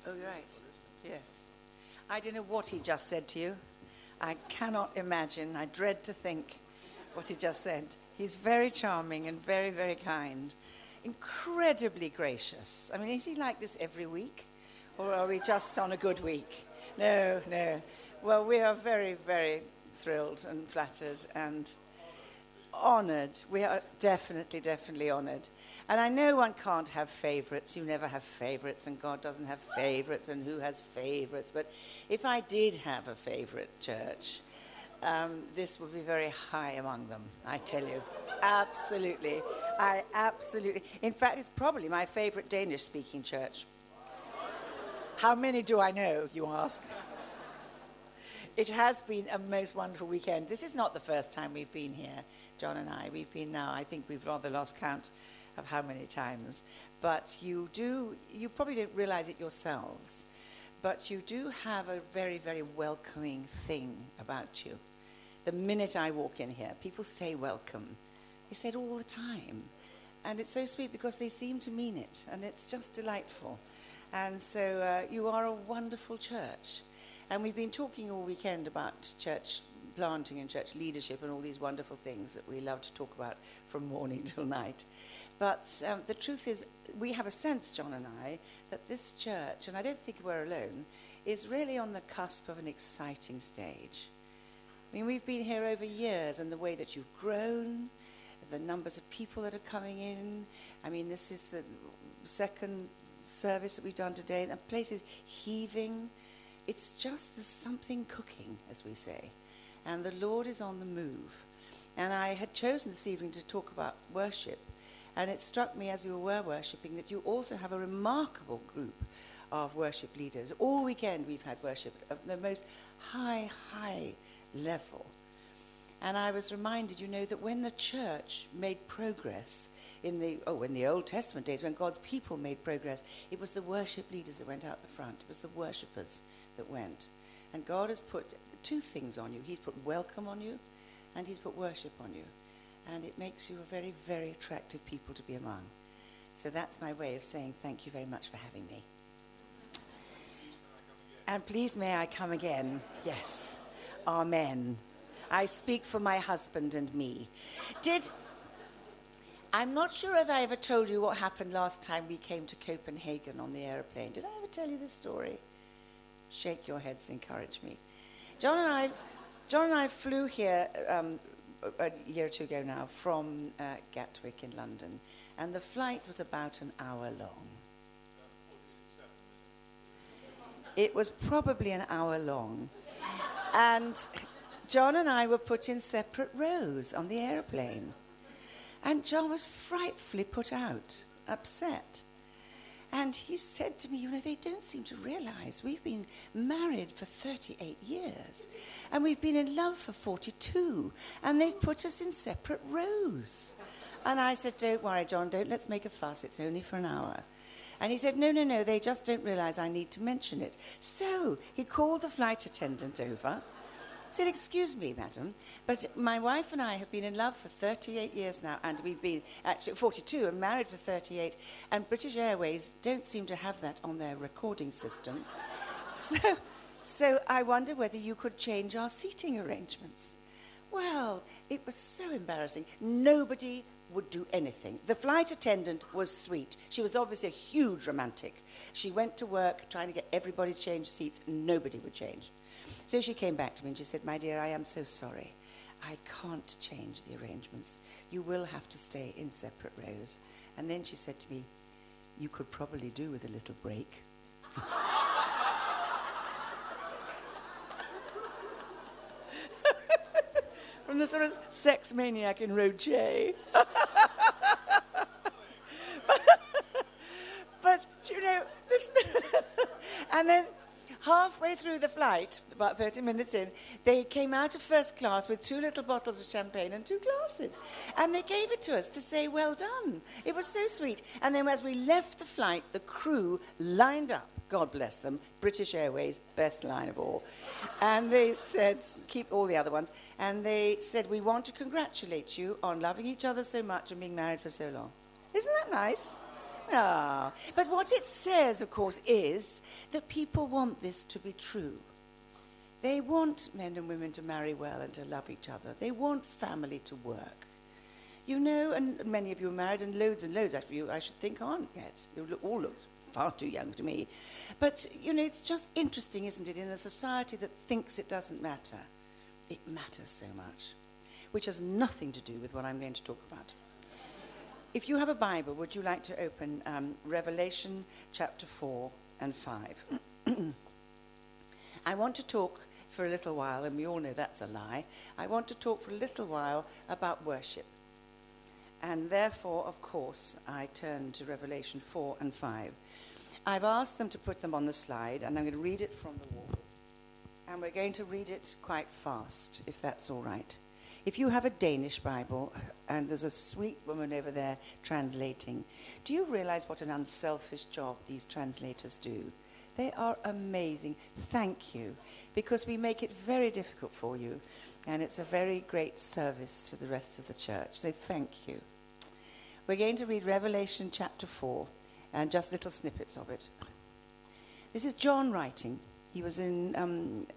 Oh, right. Yes. I don't know what he just said to you. I cannot imagine. I dread to think what he just said. He's very charming and very, very kind. Incredibly gracious. I mean, is he like this every week? Or are we just on a good week? No, no. Well, we are very, very thrilled and flattered and honoured. We are definitely, definitely honoured. And I know one can't have favourites. You never have favourites, and God doesn't have favourites, and who has favourites? But if I did have a favourite church, this would be very high among them, I tell you. Absolutely. In fact, it's probably my favourite Danish-speaking church. How many do I know, you ask? It has been a most wonderful weekend. This is not the first time we've been here, John and I. We've been now, I think we've rather lost count of how many times. But you probably don't realize it yourselves, but you do have a very, very welcoming thing about you. The minute I walk in here, people say welcome. They say it all the time. And it's so sweet because they seem to mean it, and it's just delightful. And so you are a wonderful church. And we've been talking all weekend about church planting and church leadership and all these wonderful things that we love to talk about from morning till night. But the truth is, we have a sense, John and I, that this church, and I don't think we're alone, is really on the cusp of an exciting stage. I mean, we've been here over years, and the way that you've grown, the numbers of people that are coming in. I mean, this is the second service that we've done today. The place is heaving. It's just there's something cooking, as we say. And the Lord is on the move. And I had chosen this evening to talk about worship. And it struck me as we were worshipping that you also have a remarkable group of worship leaders. All weekend we've had worship at the most high level. And I was reminded, that when the church made progress in the Old Testament days, when God's people made progress, it was the worship leaders that went out the front. It was the worshippers that went. And God has put two things on you. He's put welcome on you, and he's put worship on you. And it makes you a very, very attractive people to be among. So that's my way of saying thank you very much for having me. And please may I come again? Yes. Amen. I speak for my husband and me. I'm not sure if I ever told you what happened last time we came to Copenhagen on the aeroplane. Did I ever tell you this story? Shake your heads, encourage me. John and I flew here a year or two ago now from Gatwick in London, and the flight was about an hour long. It was probably an hour long. And John and I were put in separate rows on the aeroplane. And John was frightfully put out, upset. And he said to me, they don't seem to realize we've been married for 38 years. And we've been in love for 42. And they've put us in separate rows. And I said, don't worry, John, let's make a fuss. It's only for an hour. And he said, no, they just don't realize I need to mention it. So he called the flight attendant over. Said, excuse me, madam, but my wife and I have been in love for 38 years now, and we've been actually 42 and married for 38, and British Airways don't seem to have that on their recording system. So I wonder whether you could change our seating arrangements. Well, it was so embarrassing. Nobody would do anything. The flight attendant was sweet. She was obviously a huge romantic. She went to work trying to get everybody to change seats, and nobody would change. So she came back to me and she said, my dear, I am so sorry. I can't change the arrangements. You will have to stay in separate rows. And then she said to me, you could probably do with a little break. From the sort of sex maniac in row J. But and then halfway through the flight, about 30 minutes in, they came out of first class with 2 little bottles of champagne and 2 glasses. And they gave it to us to say, well done. It was so sweet. And then as we left the flight, the crew lined up, God bless them, British Airways, best line of all. And they said, keep all the other ones. And they said, we want to congratulate you on loving each other so much and being married for so long. Isn't that nice? Ah, but what it says, of course, is that people want this to be true. They want men and women to marry well and to love each other. They want family to work. You know, and many of you are married, and loads of you, I should think, aren't yet. You all look far too young to me. But, you know, it's just interesting, isn't it, in a society that thinks it doesn't matter. It matters so much, which has nothing to do with what I'm going to talk about. If you have a Bible, would you like to open Revelation chapter 4 and 5? I want to talk for a little while, and we all know that's a lie. I want to talk for a little while about worship. And therefore, of course, I turn to Revelation 4 and 5. I've asked them to put them on the slide, and I'm going to read it from the wall. And we're going to read it quite fast, if that's all right. If you have a Danish Bible, and there's a sweet woman over there translating, do you realize what an unselfish job these translators do? They are amazing. Thank you, because we make it very difficult for you, and it's a very great service to the rest of the church. So thank you. We're going to read Revelation chapter 4, and just little snippets of it. This is John writing. He was on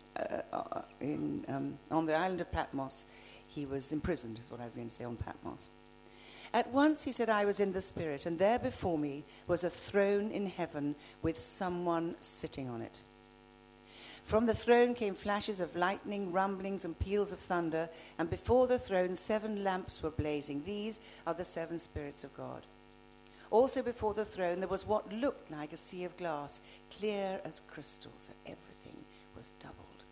the island of Patmos. He was imprisoned, is what I was going to say, on Patmos. At once he said, I was in the Spirit, and there before me was a throne in heaven with someone sitting on it. From the throne came flashes of lightning, rumblings, and peals of thunder, and before the throne 7 lamps were blazing. These are the 7 spirits of God. Also before the throne there was what looked like a sea of glass, clear as crystal, so everything was doubled.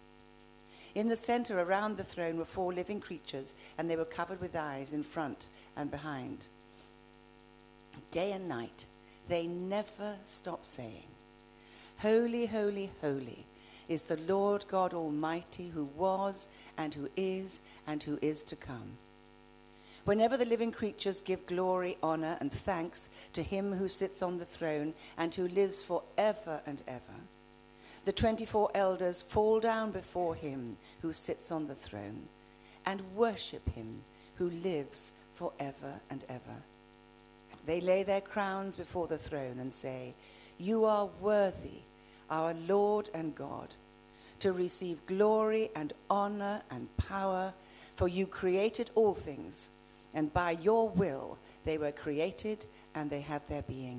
In the center around the throne were 4 living creatures, and they were covered with eyes in front and behind. Day and night they never stop saying, Holy, holy, holy is the Lord God Almighty, who was and who is to come. Whenever the living creatures give glory, honor, and thanks to him who sits on the throne and who lives forever and ever, the 24 elders fall down before him who sits on the throne and worship him who lives forever and ever. They lay their crowns before the throne and say, You are worthy, our Lord and God, to receive glory and honor and power, for you created all things, and by your will they were created and they have their being.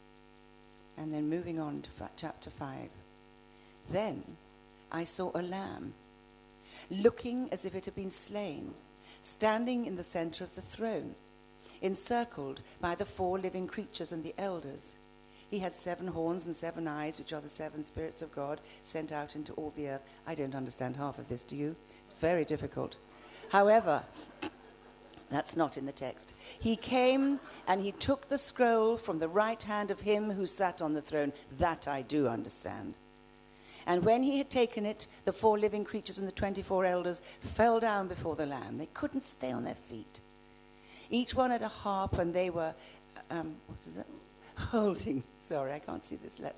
And then moving on to chapter 5. Then I saw a lamb, looking as if it had been slain, standing in the center of the throne, encircled by the 4 living creatures and the elders. He had 7 horns and 7 eyes, which are the 7 spirits of God sent out into all the earth. I don't understand half of this, do you? It's very difficult. However, that's not in the text. He came and he took the scroll from the right hand of him who sat on the throne. That I do understand. And when he had taken it, the 4 living creatures and the 24 elders fell down before the Lamb. They couldn't stay on their feet. Each one had a harp, and they were, holding, sorry, I can't see this,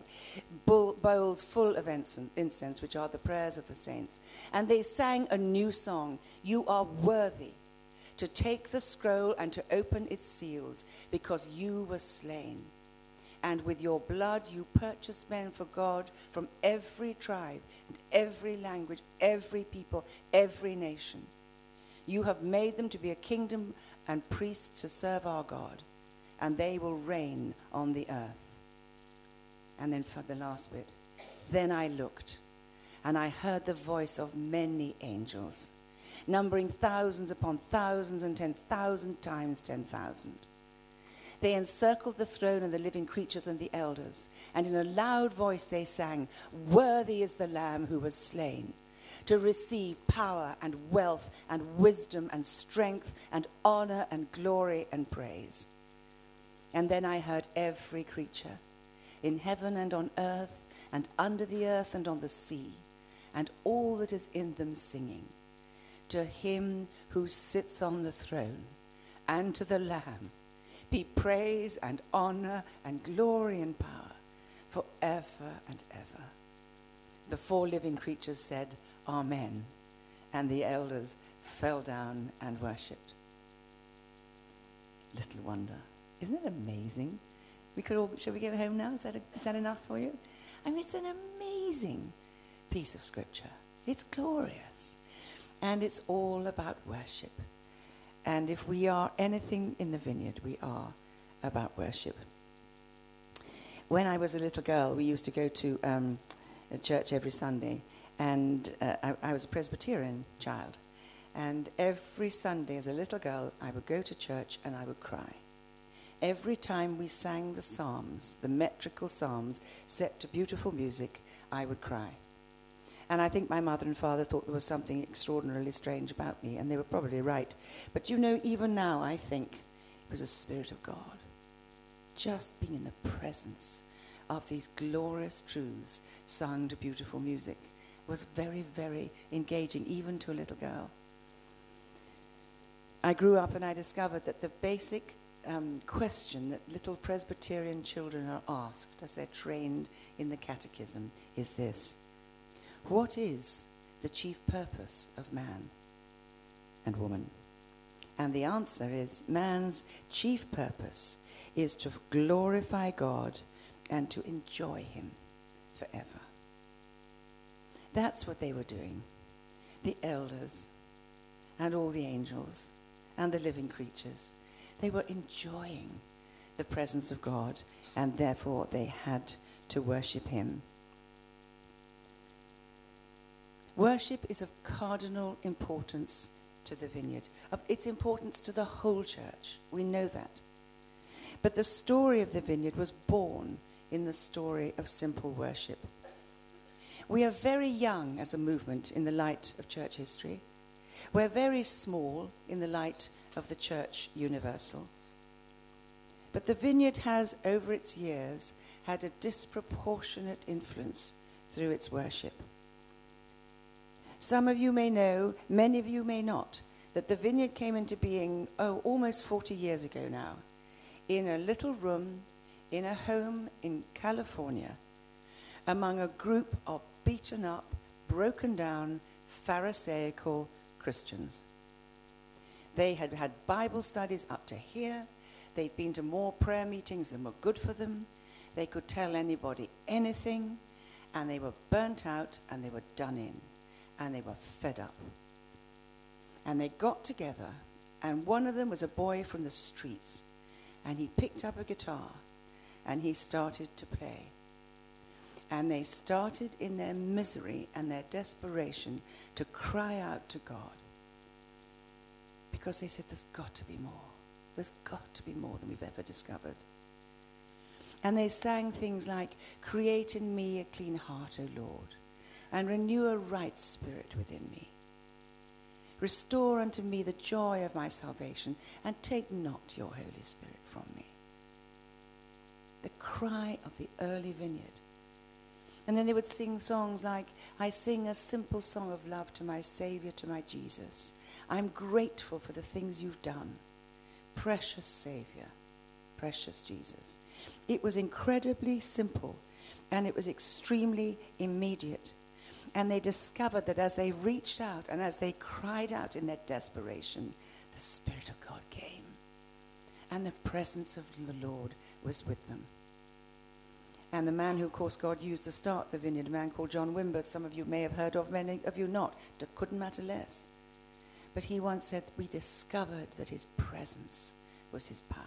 bowls full of incense, which are the prayers of the saints. And they sang a new song, You are worthy to take the scroll and to open its seals, because you were slain. And with your blood you purchased men for God from every tribe and every language, every people, every nation. You have made them to be a kingdom and priests to serve our God, and they will reign on the earth. And then for the last bit, then I looked, and I heard the voice of many angels, numbering thousands upon thousands and 10,000 times 10,000. They encircled the throne and the living creatures and the elders, and in a loud voice they sang, Worthy is the Lamb who was slain, to receive power and wealth and wisdom and strength and honor and glory and praise. And then I heard every creature in heaven and on earth and under the earth and on the sea, and all that is in them singing, To him who sits on the throne and to the Lamb be praise and honor and glory and power forever and ever. The 4 living creatures said, Amen. And the elders fell down and worshipped. Little wonder. Isn't it amazing Shall we go home now? Is that enough for you? I mean, it's an amazing piece of scripture. It's glorious. And it's all about worship. And if we are anything in the vineyard, we are about worship. When I was a little girl, we used to go to a church every Sunday. And I was a Presbyterian child. And every Sunday as a little girl, I would go to church and I would cry. Every time we sang the psalms, the metrical psalms, set to beautiful music, I would cry. And I think my mother and father thought there was something extraordinarily strange about me, and they were probably right. But you know, even now, I think it was the Spirit of God. Just being in the presence of these glorious truths sung to beautiful music was very, very engaging, even to a little girl. I grew up and I discovered that the basic question that little Presbyterian children are asked as they're trained in the catechism is this: what is the chief purpose of man and woman? And the answer is, man's chief purpose is to glorify God and to enjoy him forever. That's what they were doing. The elders and all the angels and the living creatures, they were enjoying the presence of God, and therefore they had to worship him. Worship is of cardinal importance to the vineyard, of its importance to the whole church. We know that. But the story of the vineyard was born in the story of simple worship. We are very young as a movement in the light of church history. We're very small in the light of the church universal. But the vineyard has, over its years, had a disproportionate influence through its worship. Some of you may know, many of you may not, that the vineyard came into being, almost 40 years ago now, in a little room in a home in California, among a group of beaten up, broken down, Pharisaical Christians. They had had Bible studies up to here. They'd been to more prayer meetings than were good for them. They could tell anybody anything, and they were burnt out, and they were done in, and they were fed up. And they got together, and one of them was a boy from the streets, and he picked up a guitar, and he started to play. And they started in their misery and their desperation to cry out to God. Because they said, there's got to be more. There's got to be more than we've ever discovered. And they sang things like, create in me a clean heart, O Lord, and renew a right spirit within me. Restore unto me the joy of my salvation, and take not your Holy Spirit from me. The cry of the early vineyard. And then they would sing songs like, I sing a simple song of love to my Savior, to my Jesus. I'm grateful for the things you've done. Precious Savior, precious Jesus. It was incredibly simple, and it was extremely immediate. And they discovered that as they reached out and as they cried out in their desperation, the Spirit of God came. And the presence of the Lord was with them. And the man who, of course, God used to start the vineyard, a man called John Wimber, some of you may have heard of, many of you not. It couldn't matter less. But he once said, we discovered that his presence was his power.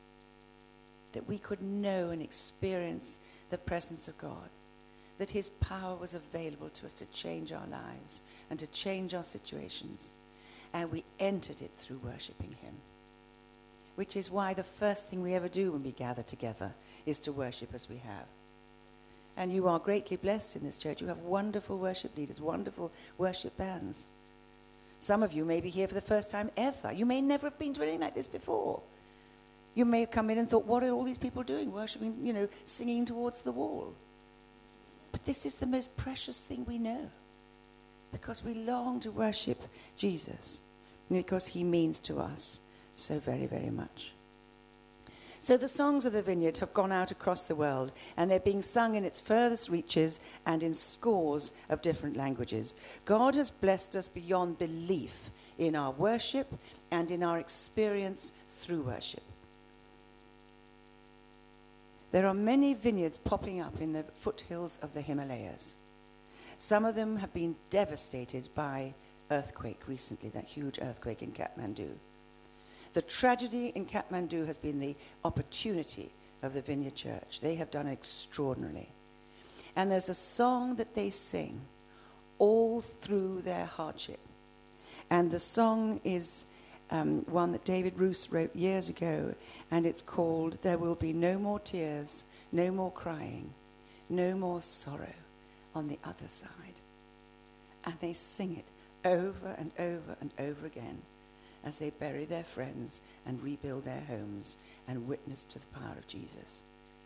That we could know and experience the presence of God. That his power was available to us to change our lives and to change our situations. And we entered it through worshiping him. Which is why the first thing we ever do when we gather together is to worship as we have. And you are greatly blessed in this church. You have wonderful worship leaders, wonderful worship bands. Some of you may be here for the first time ever. You may never have been to anything like this before. You may have come in and thought, what are all these people doing? Worshiping, singing towards the wall. But this is the most precious thing we know. Because we long to worship Jesus. Because he means to us so very, very much. So the songs of the vineyard have gone out across the world, and they're being sung in its furthest reaches and in scores of different languages. God has blessed us beyond belief in our worship and in our experience through worship. There are many vineyards popping up in the foothills of the Himalayas. Some of them have been devastated by earthquake recently, that huge earthquake in Kathmandu. The tragedy in Kathmandu has been the opportunity of the Vineyard Church. They have done extraordinarily. And there's a song that they sing all through their hardship. And the song is one that David Roos wrote years ago, and it's called "There Will Be No More Tears, No More Crying, No More Sorrow on the Other Side." And they sing it over and over and over again as they bury their friends and rebuild their homes and witness to the power of Jesus.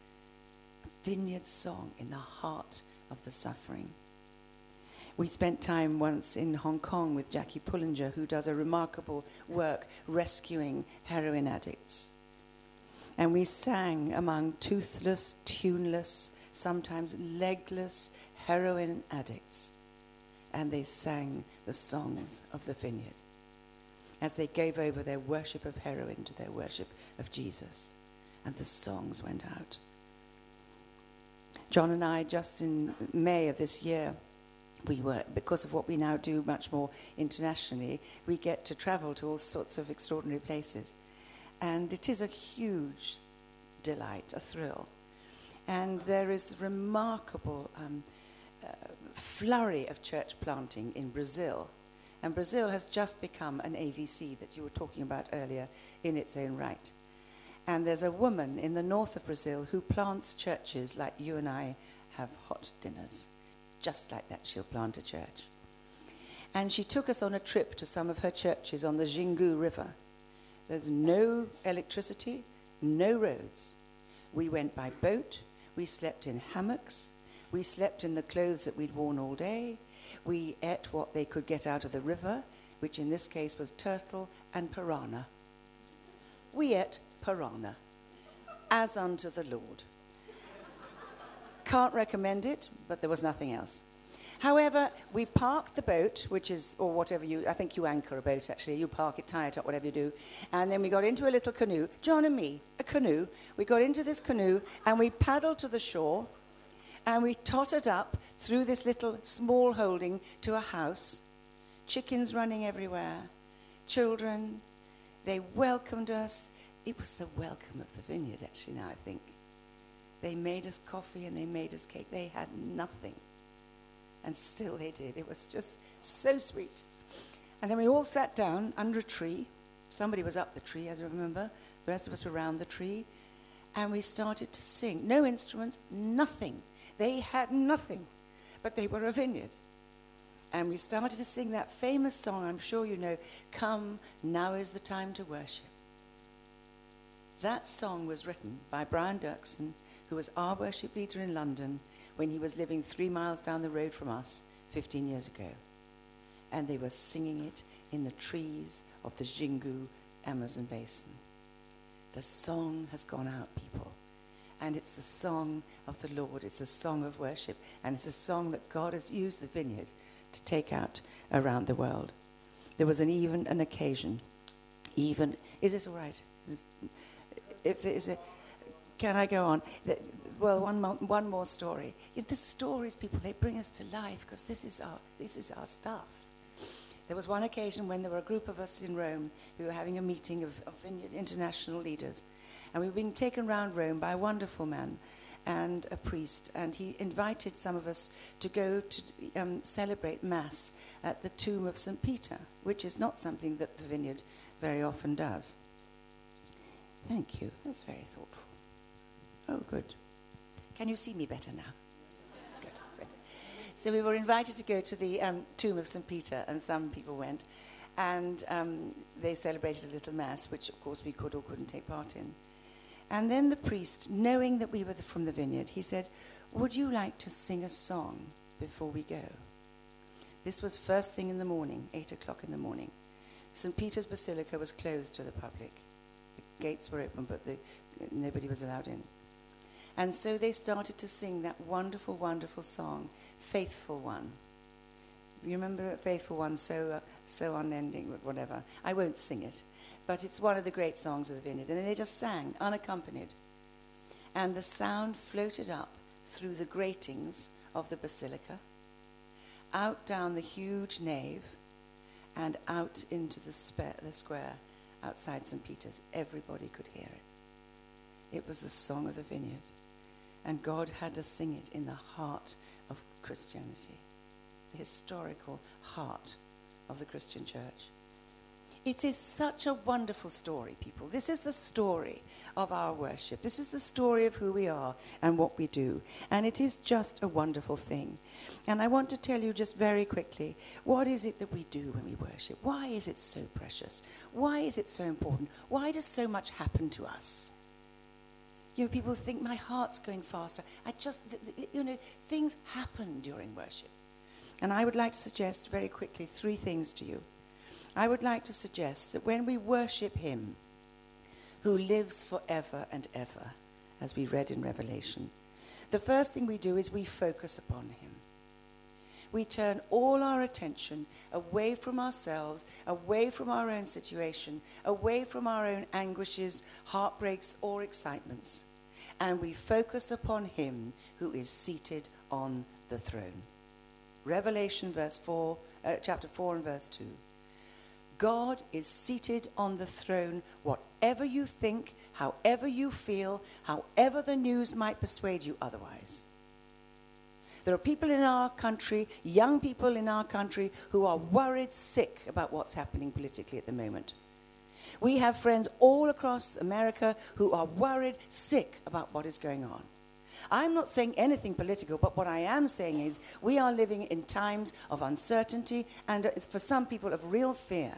A vineyard song in the heart of the suffering. We spent time once in Hong Kong with Jackie Pullinger, who does a remarkable work rescuing heroin addicts. And we sang among toothless, tuneless, sometimes legless heroin addicts. And they sang the songs of the vineyard as they gave over their worship of heroin to their worship of Jesus. And the songs went out. John and I, just in May of this year, we were, because of what we now do much more internationally, we get to travel to all sorts of extraordinary places. And it is a huge delight, a thrill. And there is a remarkable flurry of church planting in Brazil. And Brazil has just become an AVC that you were talking about earlier in its own right. And there's a woman in the north of Brazil who plants churches like you and I have hot dinners. Just like that, she'll plant a church. And she took us on a trip to some of her churches on the Xingu River. There's no electricity, no roads. We went by boat. We slept in hammocks. We slept in the clothes that we'd worn all day. We ate what they could get out of the river, which in this case was turtle and piranha. We ate piranha, as unto the Lord. Can't recommend it, but there was nothing else. However, we parked the boat, which is, or whatever I think you anchor a boat actually, you park it, tie it up, whatever you do. And then we got into a little canoe, John and me, a canoe. We got into this canoe and we paddled to the shore and we tottered up through this little small holding to a house. Chickens running everywhere, children. They welcomed us. It was the welcome of the vineyard actually now, I think. They made us coffee and they made us cake. They had nothing. And still they did. It was just so sweet. And then we all sat down under a tree. Somebody was up the tree, as I remember. The rest of us were around the tree. And we started to sing. No instruments, nothing. They had nothing. But they were a vineyard. And we started to sing that famous song, I'm sure you know, "Come, Now Is the Time to Worship." That song was written by Brian Dirksen, who was our worship leader in London when he was living 3 miles down the road from us 15 years ago. And they were singing it in the trees of the Xingu Amazon basin. The song has gone out, people. And it's the song of the Lord. It's the song of worship. And it's a song that God has used the vineyard to take out around the world. There was an occasion. Is this all right? If there is a... Can I go on? Well, one more story. The stories, people, they bring us to life because this is our stuff. There was one occasion when there were a group of us in Rome who were having a meeting of Vineyard international leaders. And we were being taken round Rome by a wonderful man and a priest. And he invited some of us to go to celebrate Mass at the tomb of St. Peter, which is not something that the Vineyard very often does. Thank you. That's very thoughtful. Oh, good. Can you see me better now? Good. So we were invited to go to the tomb of St. Peter, and some people went. And they celebrated a little Mass, which, of course, we could or couldn't take part in. And then the priest, knowing that we were from the Vineyard, he said, "Would you like to sing a song before we go?" This was first thing in the morning, 8 o'clock in the morning. St. Peter's Basilica was closed to the public. The gates were open, but nobody was allowed in. And so they started to sing that wonderful, wonderful song, Faithful One. You remember Faithful One, so unending, whatever. I won't sing it, but it's one of the great songs of the Vineyard. And they just sang, unaccompanied. and the sound floated up through the gratings of the basilica, out down the huge nave, and out into the square outside St. Peter's. Everybody could hear it. It was the song of the vineyard. And God had us sing it in the heart of Christianity, the historical heart of the Christian church. It is such a wonderful story, people. This is the story of our worship. This is the story of who we are and what we do. And it is just a wonderful thing. And I want to tell you just very quickly, what is it that we do when we worship? Why is it so precious? Why is it so important? Why does so much happen to us? You know, people think my heart's going faster. Things happen during worship. And I would like to suggest very quickly 3 things to you. I would like to suggest that when we worship him who lives forever and ever, as we read in Revelation, the first thing we do is we focus upon him. We turn all our attention away from ourselves, away from our own situation, away from our own anguishes, heartbreaks, or excitements, and we focus upon him who is seated on the throne. Revelation chapter 4 and verse 2. God is seated on the throne, whatever you think, however you feel, however the news might persuade you otherwise. There are people in our country, young people in our country, who are worried sick about what's happening politically at the moment. We have friends all across America who are worried sick about what is going on. I'm not saying anything political, but what I am saying is we are living in times of uncertainty and for some people of real fear.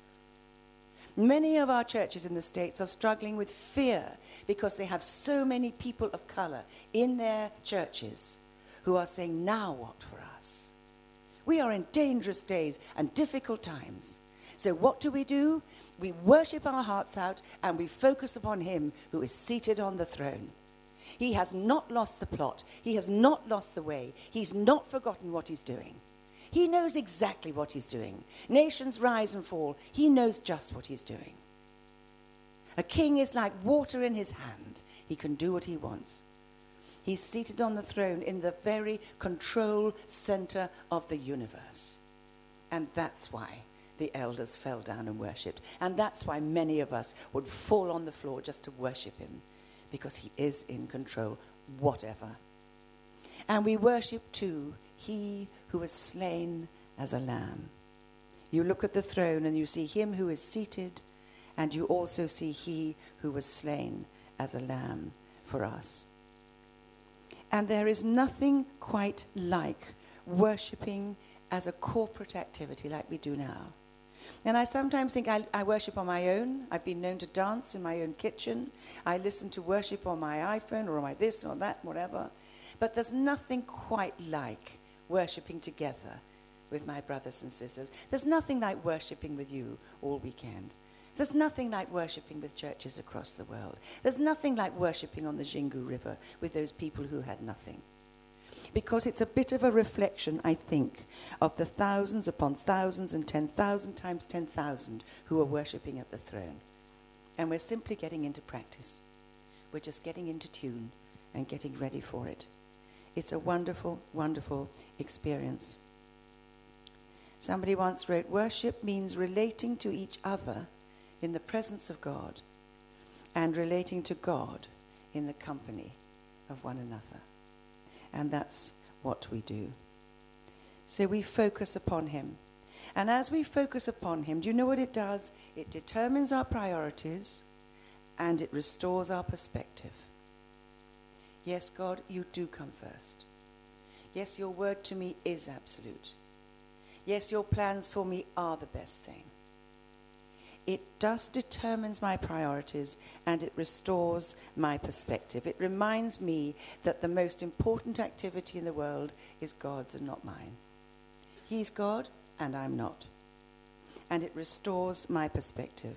Many of our churches in the States are struggling with fear because they have so many people of color in their churches who are saying, now what for us? We are in dangerous days and difficult times. So what do? We worship our hearts out and we focus upon him who is seated on the throne. He has not lost the plot. He has not lost the way. He's not forgotten what he's doing. He knows exactly what he's doing. Nations rise and fall. He knows just what he's doing. A king is like water in his hand. He can do what he wants. He's seated on the throne in the very control center of the universe. And that's why the elders fell down and worshipped. And that's why many of us would fall on the floor just to worship him. Because he is in control, whatever. And we worship too, he who was slain as a lamb. You look at the throne and you see him who is seated, and you also see he who was slain as a lamb for us. And there is nothing quite like worshipping as a corporate activity like we do now. And I sometimes think I worship on my own. I've been known to dance in my own kitchen. I listen to worship on my iPhone or on my this or that, whatever. But there's nothing quite like worshiping together with my brothers and sisters. There's nothing like worshiping with you all weekend. There's nothing like worshiping with churches across the world. There's nothing like worshiping on the Xingu River with those people who had nothing. Because it's a bit of a reflection, I think, of the thousands upon thousands and 10,000 times 10,000 who are worshipping at the throne. And we're simply getting into practice. We're just getting into tune and getting ready for it. It's a wonderful, wonderful experience. Somebody once wrote, worship means relating to each other in the presence of God and relating to God in the company of one another. And that's what we do. So we focus upon him. And as we focus upon him, do you know what it does? It determines our priorities and it restores our perspective. Yes, God, you do come first. Yes, your word to me is absolute. Yes, your plans for me are the best thing. It just determines my priorities and it restores my perspective. It reminds me that the most important activity in the world is God's and not mine. He's God and I'm not. And it restores my perspective.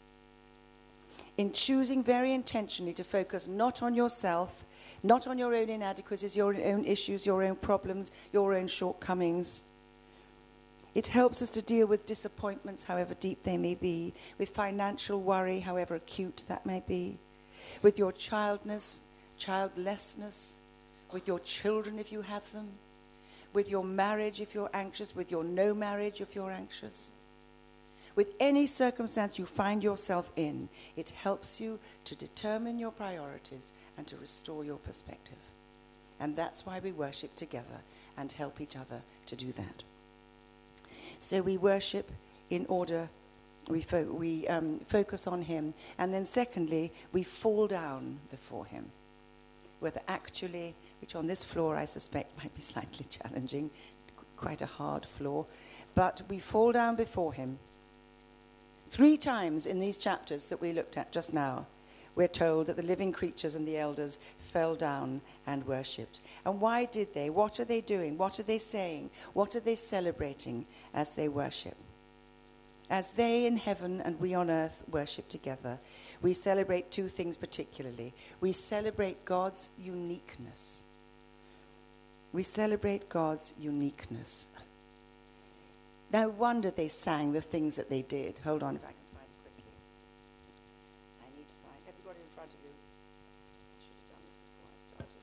In choosing very intentionally to focus not on yourself, not on your own inadequacies, your own issues, your own problems, your own shortcomings, it helps us to deal with disappointments, however deep they may be, with financial worry, however acute that may be, with your childlessness, childlessness, with your children if you have them, with your marriage if you're anxious, with your no marriage if you're anxious. With any circumstance you find yourself in, it helps you to determine your priorities and to restore your perspective. And that's why we worship together and help each other to do that. So we worship in order, we focus on him. And then secondly, we fall down before him. Whether actually, which on this floor I suspect might be slightly challenging, quite a hard floor. But we fall down before him. 3 times in these chapters that we looked at just now, we're told that the living creatures and the elders fell down and worshipped. And why did they? What are they doing? What are they saying? What are they celebrating as they worship? As they in heaven and we on earth worship together, we celebrate 2 things particularly. We celebrate God's uniqueness. We celebrate God's uniqueness. No wonder they sang the things that they did. Hold on if I can find it quickly. I need to find. Have you got it in front of you? I should have done this before I started.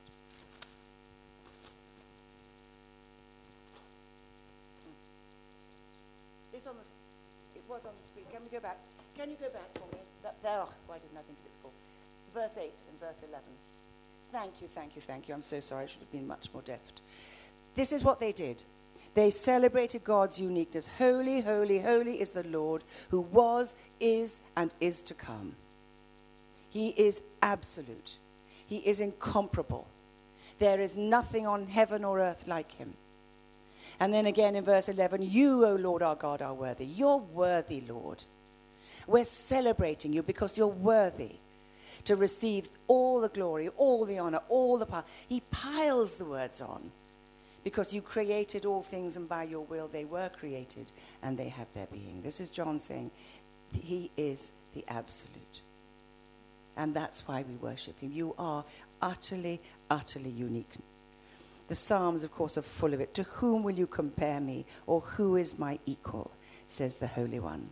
It's on the. It was on the screen. Can we go back? Can you go back for me? There. Why didn't I think of it before? Verse 8 and verse 11. Thank you, thank you, thank you. I'm so sorry. I should have been much more deft. This is what they did. They celebrated God's uniqueness. Holy, holy, holy is the Lord who was, is, and is to come. He is absolute. He is incomparable. There is nothing on heaven or earth like him. And then again in verse 11, you, O Lord our God, are worthy. You're worthy, Lord. We're celebrating you because you're worthy to receive all the glory, all the honor, all the power. He piles the words on. Because you created all things, and by your will they were created, and they have their being. This is John saying, he is the absolute. And that's why we worship him. You are utterly, utterly unique. The Psalms, of course, are full of it. To whom will you compare me, or who is my equal, says the Holy One.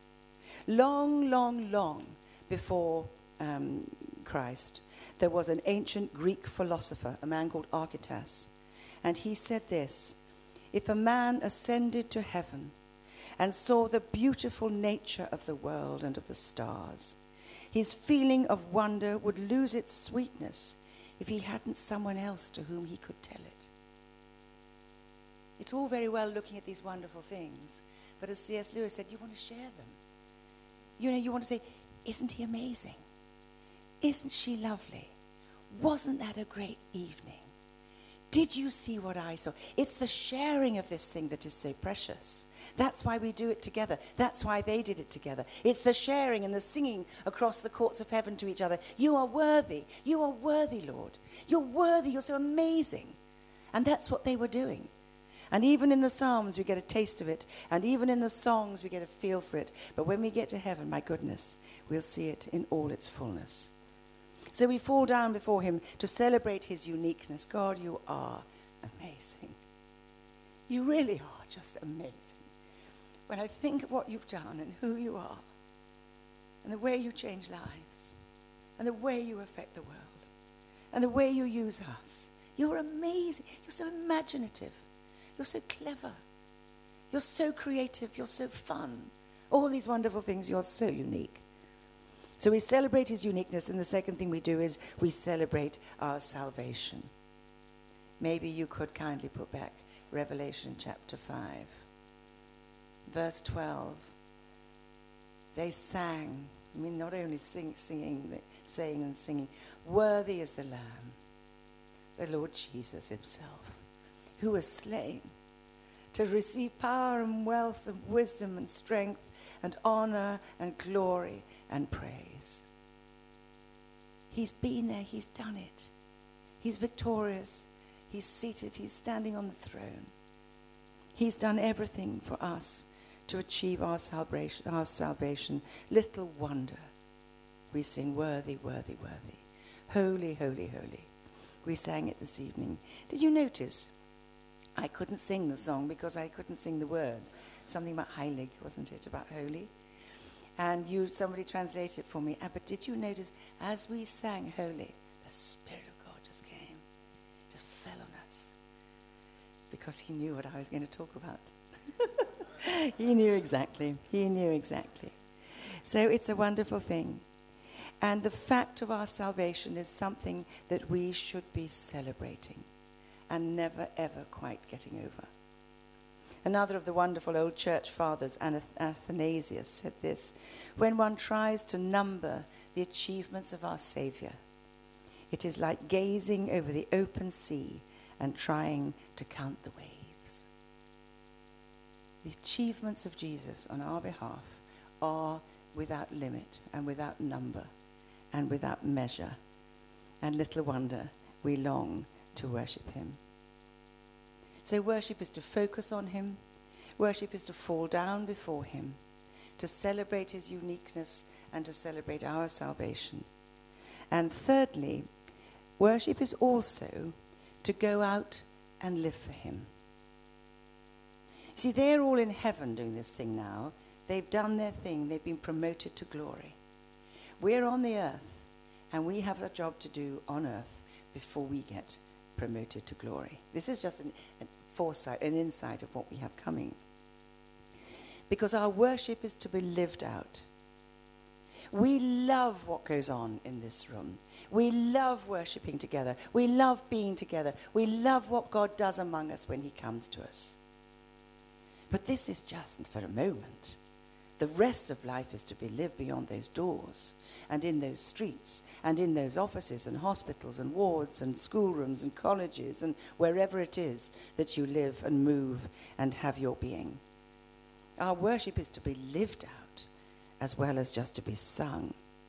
Long, long, long before Christ, there was an ancient Greek philosopher, a man called Archytas. And he said this, if a man ascended to heaven and saw the beautiful nature of the world and of the stars, his feeling of wonder would lose its sweetness if he hadn't someone else to whom he could tell it. It's all very well looking at these wonderful things, but as C.S. Lewis said, you want to share them. You know, you want to say, isn't he amazing? Isn't she lovely? Wasn't that a great evening? Did you see what I saw? It's the sharing of this thing that is so precious. That's why we do it together. That's why they did it together. It's the sharing and the singing across the courts of heaven to each other. You are worthy. You are worthy, Lord. You're worthy. You're so amazing. And that's what they were doing. And even in the Psalms, we get a taste of it. And even in the songs, we get a feel for it. But when we get to heaven, my goodness, we'll see it in all its fullness. So we fall down before him to celebrate his uniqueness. God, you are amazing. You really are just amazing. When I think of what you've done and who you are, and the way you change lives, and the way you affect the world, and the way you use us, you're amazing. You're so imaginative. You're so clever. You're so creative. You're so fun. All these wonderful things, you're so unique. So we celebrate his uniqueness, and the second thing we do is we celebrate our salvation. Maybe you could kindly put back Revelation chapter 5. Verse 12. They sang, I mean not only saying and singing, worthy is the Lamb, the Lord Jesus himself, who was slain to receive power and wealth and wisdom and strength and honor and glory and praise. He's been there, he's done it. He's victorious, he's seated, he's standing on the throne. He's done everything for us to achieve our salvation. Little wonder we sing worthy, worthy, worthy. Holy, holy, holy. We sang it this evening. Did you notice? I couldn't sing the song because I couldn't sing the words. Something about heilig, wasn't it? About holy. And somebody translated it for me. But did you notice, as we sang holy, the Spirit of because he knew what I was going to talk about. He knew exactly. He knew exactly. So it's a wonderful thing. And the fact of our salvation is something that we should be celebrating and never, ever quite getting over. Another of the wonderful old church fathers, Athanasius, said this: when one tries to number the achievements of our Saviour, it is like gazing over the open sea and trying to count the waves. The achievements of Jesus on our behalf are without limit and without number and without measure. And little wonder we long to worship him. So worship is to focus on him. Worship is to fall down before him, to celebrate his uniqueness and to celebrate our salvation. And thirdly, worship is also to go out and live for him. See, they're all in heaven doing this thing now. They've done their thing. They've been promoted to glory. We're on the earth, and we have a job to do on earth before we get promoted to glory. This is just a foresight, an insight of what we have coming. Because our worship is to be lived out. We love what goes on in this room. We love worshipping together. We love being together. We love what God does among us when he comes to us. But this is just for a moment. The rest of life is to be lived beyond those doors and in those streets and in those offices and hospitals and wards and schoolrooms and colleges and wherever it is that you live and move and have your being. Our worship is to be lived out as well as just to be sung.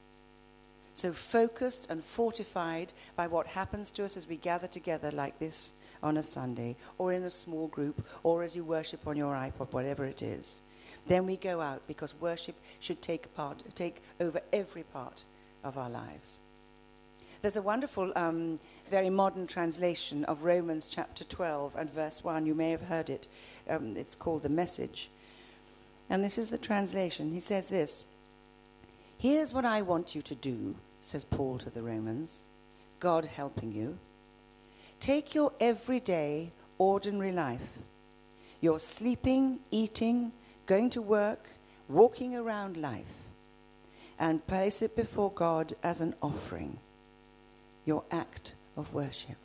So focused and fortified by what happens to us as we gather together like this on a Sunday or in a small group or as you worship on your iPod, whatever it is. Then we go out because worship should take over every part of our lives. There's a wonderful, very modern translation of Romans chapter 12 and verse 1. You may have heard it. It's called The Message. And this is the translation. He says this: here's what I want you to do, says Paul to the Romans, God helping you. Take your everyday, ordinary life, your sleeping, eating, going to work, walking around life, and place it before God as an offering, your act of worship.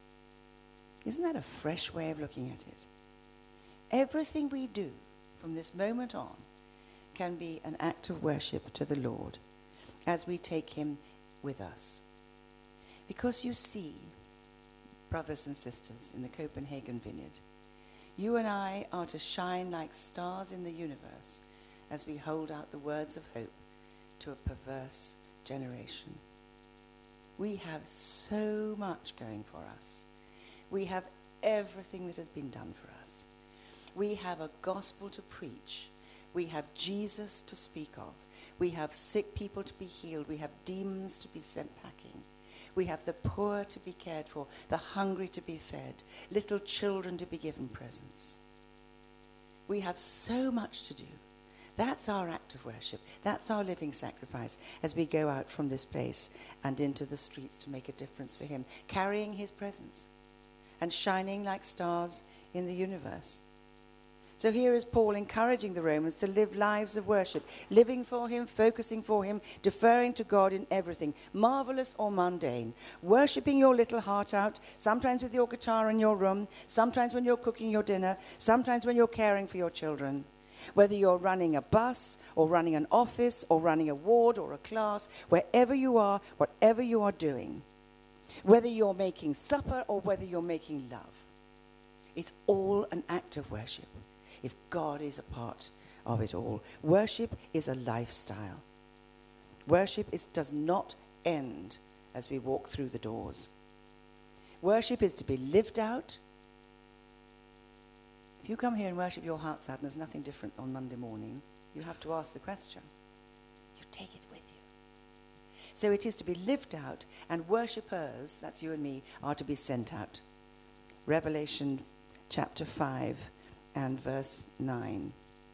Isn't that a fresh way of looking at it? Everything we do from this moment on can be an act of worship to the Lord as we take him with us. Because you see, brothers and sisters in the Copenhagen Vineyard, you and I are to shine like stars in the universe as we hold out the words of hope to a perverse generation. We have so much going for us. We have everything that has been done for us. We have a gospel to preach. We have Jesus to speak of. We have sick people to be healed. We have demons to be sent packing. We have the poor to be cared for, the hungry to be fed, little children to be given presents. We have so much to do. That's our act of worship. That's our living sacrifice as we go out from this place and into the streets to make a difference for him, carrying his presence and shining like stars in the universe. So here is Paul encouraging the Romans to live lives of worship, living for him, focusing for him, deferring to God in everything, marvelous or mundane, worshipping your little heart out, sometimes with your guitar in your room, sometimes when you're cooking your dinner, sometimes when you're caring for your children. Whether you're running a bus or running an office or running a ward or a class, wherever you are, whatever you are doing, whether you're making supper or whether you're making love, it's all an act of worship. If God is a part of it all. Worship is a lifestyle. Worship does not end as we walk through the doors. Worship is to be lived out. If you come here and worship your hearts out and there's nothing different on Monday morning, you have to ask the question. You take it with you. So it is to be lived out, and worshippers, that's you and me, are to be sent out. Revelation chapter 5 and verse 9.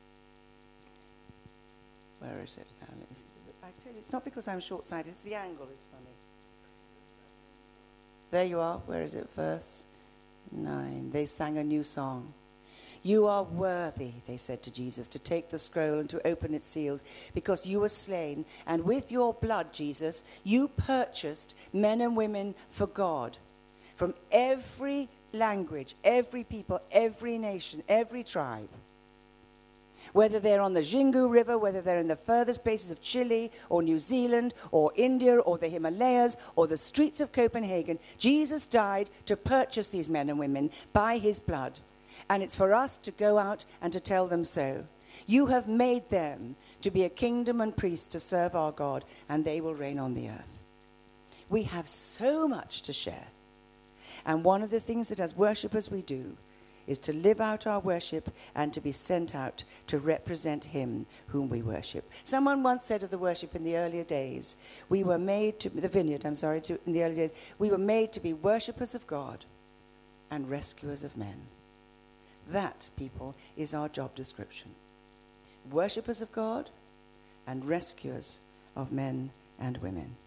Where is it now? I tell you, it's not because I'm short-sighted, it's the angle is funny. There you are. Where is it? Verse 9. They sang a new song. You are worthy, they said to Jesus, to take the scroll and to open its seals, because you were slain, and with your blood, Jesus, you purchased men and women for God from every language, every people, every nation, every tribe. Whether they're on the Xingu River, whether they're in the furthest places of Chile or New Zealand or India or the Himalayas or the streets of Copenhagen, Jesus died to purchase these men and women by his blood. And it's for us to go out and to tell them so. You have made them to be a kingdom and priests to serve our God, and they will reign on the earth. We have so much to share. And one of the things that as worshippers we do is to live out our worship and to be sent out to represent him whom we worship. Someone once said of the worship in the earlier days, we were made to, the vineyard, in the early days, we were made to be worshippers of God and rescuers of men. That, people, is our job description. Worshippers of God and rescuers of men and women.